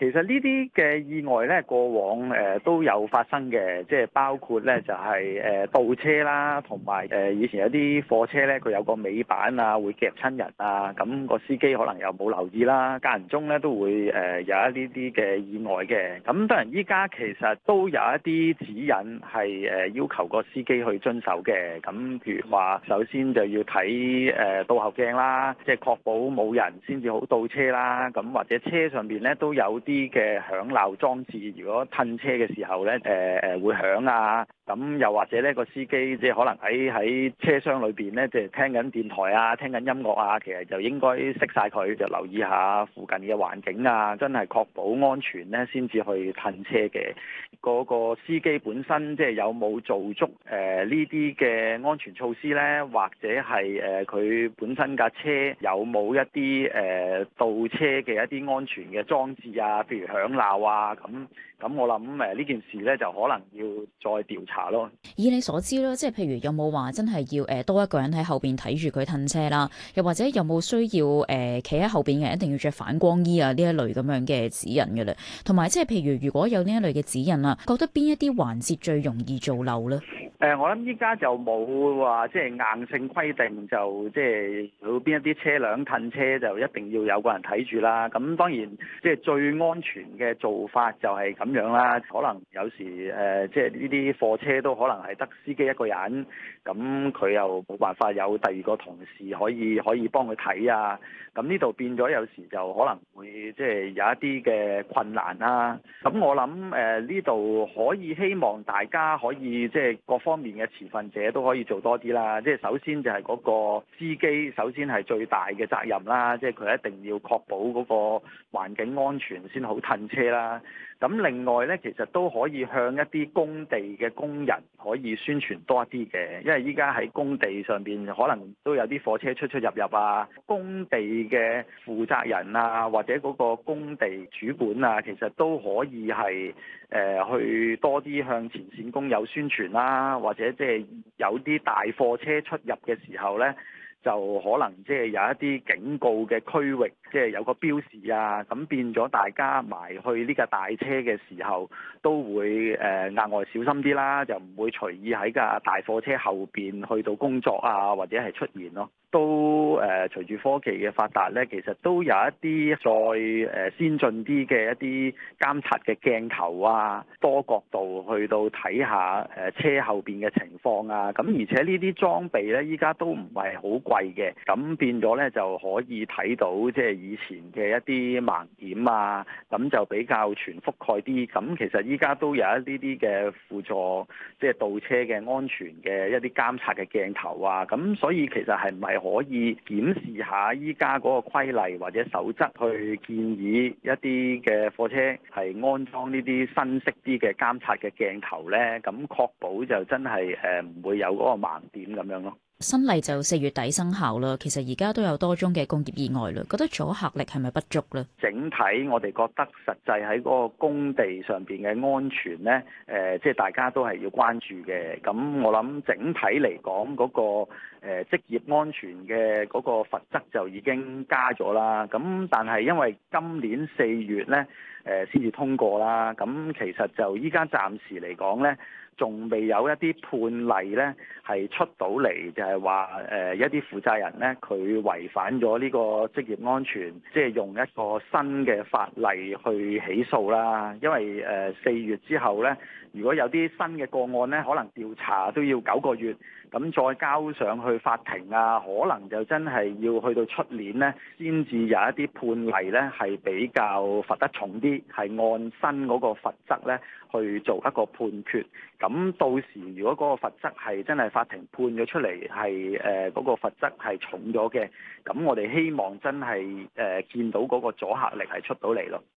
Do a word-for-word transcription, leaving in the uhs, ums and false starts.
其實呢啲嘅意外咧，過往誒、呃、都有發生嘅，即係包括咧就係、是、誒、呃、倒車啦，同埋誒以前有啲貨車咧，佢有個尾板啊，會夾親人啊，咁、那個司機可能又冇留意啦，間唔中咧都會誒、呃、有一啲啲嘅意外嘅。咁當然依家其實都有一啲指引係誒、呃、要求個司機去遵守嘅。咁譬如話，首先就要睇誒倒後鏡啦，即係確保冇人先至好倒車啦。咁或者車上邊咧都有啲嘅響鬧裝置，如果褪車嘅時候咧，誒、呃、誒會響啊。咁又或者咧個司機即係可能喺喺車廂裏邊咧，即係聽緊電台啊，聽緊音樂啊，其實就應該熄晒佢，就留意下附近嘅環境啊，真係確保安全咧，先至去褪車嘅。嗰個司機本身即係有冇做足誒呢啲嘅安全措施咧，或者係誒佢本身架車有冇一啲誒、呃、倒車嘅一啲安全嘅裝置啊，譬如響鬧啊，咁咁我諗誒呢件事咧就可能要再調查咯。 以你所知啦，即係譬如有冇話真係要誒多一個人喺後邊睇住佢褪車啦，又或者有冇需要誒企喺後邊嘅人一定要着反光衣啊呢一類咁樣嘅指引嘅咧？同埋即係譬如如果有呢一類嘅指引啊，覺得邊一啲環節最容易做漏咧？ 誒、呃，我諗依家就冇話即係硬性規定，就即係有邊一啲車輛褪車就一定要有個人睇住啦。咁當然即係最安全嘅做法就係咁樣啦。可能有時誒、呃，即係呢啲貨車都可能係得司機一個人，咁佢又冇辦法有第二個同事可以可以幫佢睇啊。咁呢度變咗有時就可能會即係有一啲嘅困難啦。咁我諗誒呢度可以希望大家可以即係各方面嘅持份者都可以做多啲啦。即係首先就係嗰個司機，首先係最大嘅責任啦。即係佢一定要確保嗰個環境安全先好褪車啦。咁另外呢，其實都可以向一啲工地嘅工人可以宣傳多一啲嘅，因為依家喺工地上邊可能都有啲貨車出出入入啊，工地嘅負責人啊，或者嗰個工地主管啊，其實都可以係誒、呃、去多啲向前線工友宣傳啦，或者即係有啲大貨車出入嘅時候呢，就可能即係有一啲警告嘅區域，即係有個標示啊，咁變咗大家埋去呢架大車嘅時候，都會誒額外小心啲啦，就唔會隨意喺架大貨車後邊去到工作啊，或者係出現咯。都誒隨住科技嘅發達咧，其實都有一啲再誒先進啲嘅一啲監察嘅鏡頭啊，多角度去到睇下誒車後邊嘅情況啊。咁而且呢啲裝備咧，依家都唔係好貴嘅，咁變咗咧就可以睇到即係以前嘅一啲盲點啊，咁就比較全覆蓋啲。咁其實依家都有一啲啲嘅輔助，即係倒車嘅安全嘅一啲監察嘅鏡頭啊。咁所以其實係唔係可以檢視下依家嗰個規例或者守則，去建議一啲嘅貨車係安裝呢啲新式啲嘅監察嘅鏡頭呢？咁確保就真係誒唔會有嗰個盲點咁樣咯。 新例就四月底生效啦，其實而家都有多宗嘅工業意外啦，覺得阻嚇力係咪不足咧？ 整體我哋覺得實際喺嗰個工地上邊嘅安全咧，誒、呃，即係大家都係要關注嘅。咁我諗整體嚟講，嗰、那個誒、呃、職業安全嘅嗰個罰則就已經加咗啦。咁但係因為今年四月咧，誒先至通過啦。咁其實就依家暫時嚟講咧，仲未有一啲判例咧係出到嚟，就係話誒一啲負責人咧佢違反咗呢個職業安全，即係用一個新嘅法例去起訴啦。因為誒四月之後咧，如果有啲新嘅個案咧，可能調查都要九個月，咁再交上去法庭啊，可能就真係要去到出年咧，先至有一啲判例咧係比較罰得重啲，係按新嗰個罰則咧去做一個判決。咁到時如果嗰個罰則係真係法庭判咗出嚟，係誒嗰個罰則係重咗嘅，咁我哋希望真係誒、呃、見到嗰個阻嚇力係出到嚟咯。